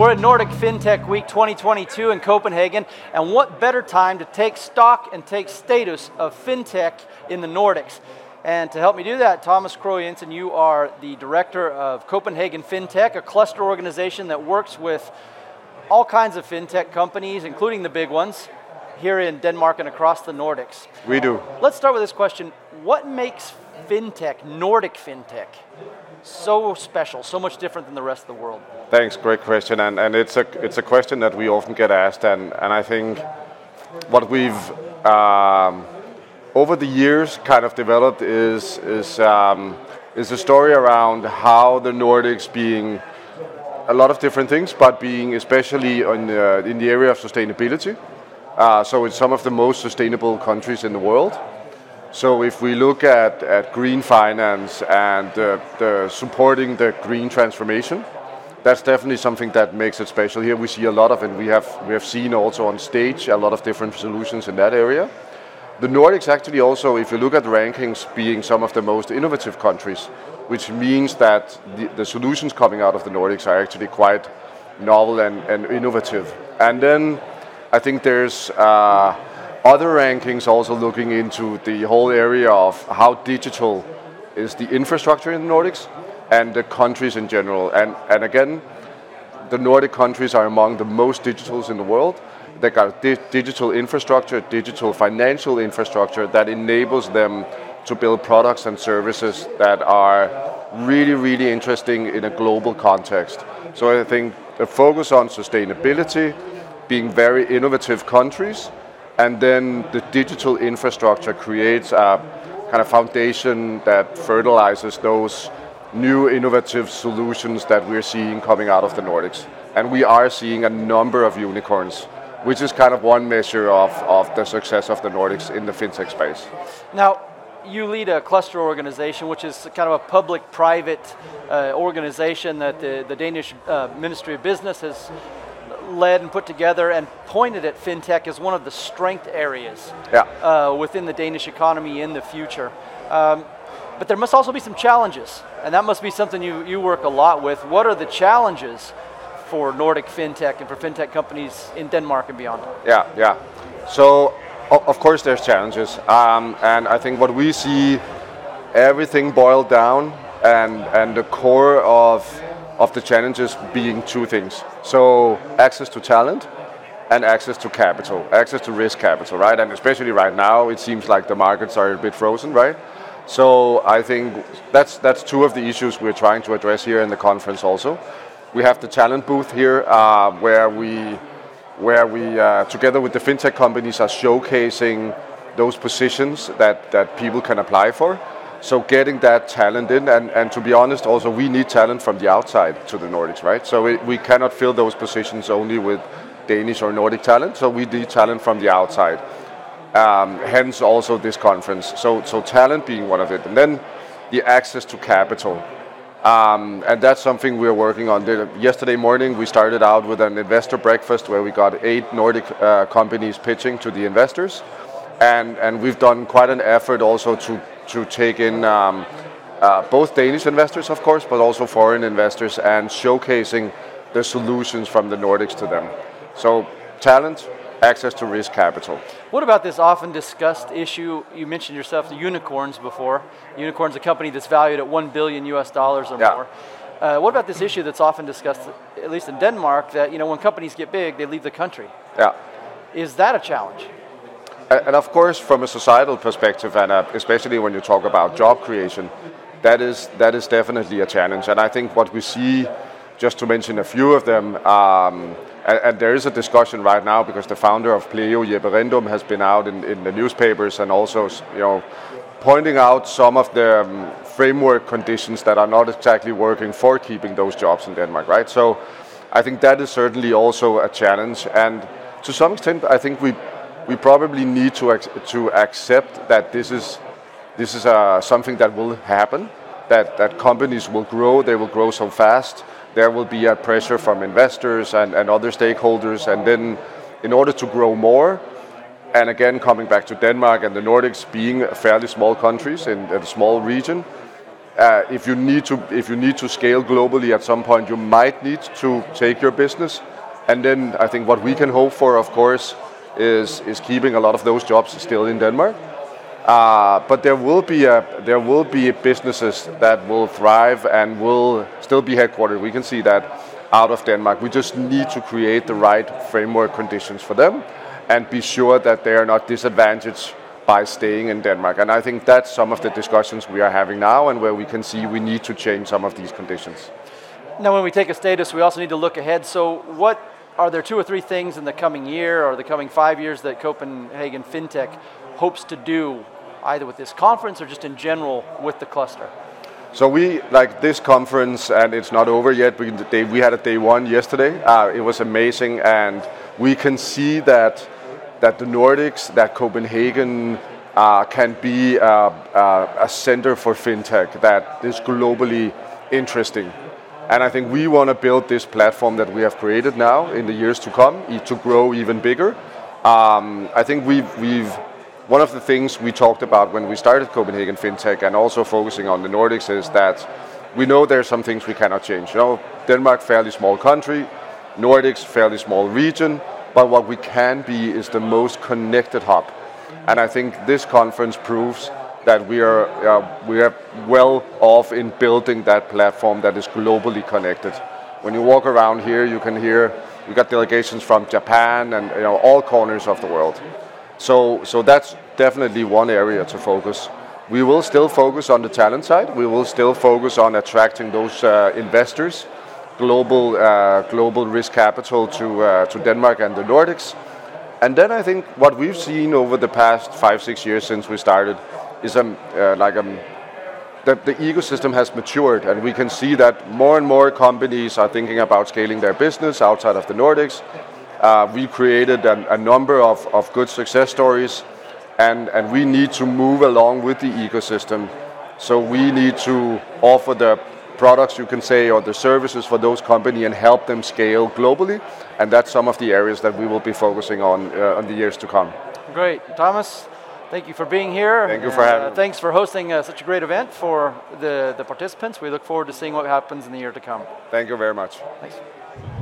We're at Nordic FinTech Week 2022 in Copenhagen, and what better time to take stock and take status of FinTech in the Nordics. And to help me do that, Thomas Krogh Jensen, you are the director of Copenhagen FinTech, a cluster organization that works with all kinds of FinTech companies, including the big ones, here in Denmark and across the Nordics. We do. Let's start with this question. What makes FinTech, Nordic FinTech, so special, so much different than the rest of the world? Thanks, great question, and it's a question that we often get asked, and I think what we've over the years kind of developed is a story around how the Nordics being a lot of different things, but being especially in the area of sustainability. So it's some of the most sustainable countries in the world. So if we look at green finance and the supporting the green transformation, that's definitely something that makes it special. Here we see a lot of it. We have seen also on stage a lot of different solutions in that area. The Nordics actually also, if you look at the rankings, being some of the most innovative countries, which means that the solutions coming out of the Nordics are actually quite novel and innovative. And then I think there's other rankings also looking into the whole area of how digital is the infrastructure in the Nordics and the countries in general. And again, the Nordic countries are among the most digitals in the world. They got digital infrastructure, digital financial infrastructure that enables them to build products and services that are really, really interesting in a global context. So I think the focus on sustainability, being very innovative countries, and then the digital infrastructure creates a kind of foundation that fertilizes those new innovative solutions that we're seeing coming out of the Nordics. And we are seeing a number of unicorns, which is kind of one measure of the success of the Nordics in the fintech space. Now, you lead a cluster organization, which is kind of a public-private organization that the Danish Ministry of Business has led and put together and pointed at FinTech as one of the strength areas within the Danish economy in the future. But there must also be some challenges, and that must be something you work a lot with. What are the challenges for Nordic FinTech and for FinTech companies in Denmark and beyond? Yeah. So, of course there's challenges, and I think what we see, everything boiled down, and the core of the challenges being two things. So, access to talent and access to capital, access to risk capital, right? And especially right now, it seems like the markets are a bit frozen, right? So I think that's two of the issues we're trying to address here in the conference also. We have the talent booth here, where we together with the fintech companies are showcasing those positions that people can apply for. So getting that talent in, and to be honest, also we need talent from the outside to the Nordics, right? So we cannot fill those positions only with Danish or Nordic talent, so we need talent from the outside. Hence also this conference. So talent being one of it. And then the access to capital. And that's something we're working on. Yesterday morning we started out with an investor breakfast where we got 8 Nordic companies pitching to the investors. And we've done quite an effort also to take in both Danish investors, of course, but also foreign investors, and showcasing the solutions from the Nordics to them. So talent, access to risk capital. What about this often discussed issue? You mentioned yourself the unicorns before. Unicorn's a company that's valued at $1 billion or more. What about this issue that's often discussed, at least in Denmark, that when companies get big, they leave the country? Yeah. Is that a challenge? And of course, from a societal perspective, and especially when you talk about job creation, that is definitely a challenge. And I think what we see, just to mention a few of them, and there is a discussion right now because the founder of Pleo, Jeppe Rindum, has been out in the newspapers and also pointing out some of the framework conditions that are not exactly working for keeping those jobs in Denmark, right? So I think that is certainly also a challenge, and to some extent I think we probably need to accept that this is something that will happen, that companies will grow, they will grow so fast. There will be a pressure from investors and other stakeholders, and then in order to grow more, and again coming back to Denmark and the Nordics being fairly small countries in a small region, if you need to scale globally at some point, you might need to take your business. And then I think what we can hope for, of course, is keeping a lot of those jobs still in Denmark. But there will be businesses that will thrive and will still be headquartered. We can see that out of Denmark. We just need to create the right framework conditions for them and be sure that they are not disadvantaged by staying in Denmark. And I think that's some of the discussions we are having now, and where we can see we need to change some of these conditions. Now, when we take a status, we also need to look ahead. So what are there 2 or 3 things in the coming year or the coming 5 years that Copenhagen FinTech hopes to do, either with this conference or just in general with the cluster? So we, like this conference, and it's not over yet, we had a day 1 yesterday. It was amazing, and we can see that the Nordics, that Copenhagen can be a center for FinTech that is globally interesting. And I think we want to build this platform that we have created now in the years to come to grow even bigger. I think one of the things we talked about when we started Copenhagen FinTech, and also focusing on the Nordics, is that we know there are some things we cannot change. Denmark, fairly small country, Nordics, fairly small region, but what we can be is the most connected hub. And I think this conference proves that we are well off in building that platform that is globally connected. When you walk around here, you can hear we got delegations from Japan and all corners of the world. So that's definitely one area to focus. We will still focus on the talent side. We will still focus on attracting those investors, global risk capital to Denmark and the Nordics. And then I think what we've seen over the past 5-6 years since we started is that the ecosystem has matured, and we can see that more and more companies are thinking about scaling their business outside of the Nordics. We created a number of good success stories, and we need to move along with the ecosystem. So we need to offer the products, you can say, or the services for those companies and help them scale globally. And that's some of the areas that we will be focusing on the years to come. Great. Thomas, thank you for being here. Thank you for having me. Thanks for hosting such a great event for the participants. We look forward to seeing what happens in the year to come. Thank you very much. Thanks.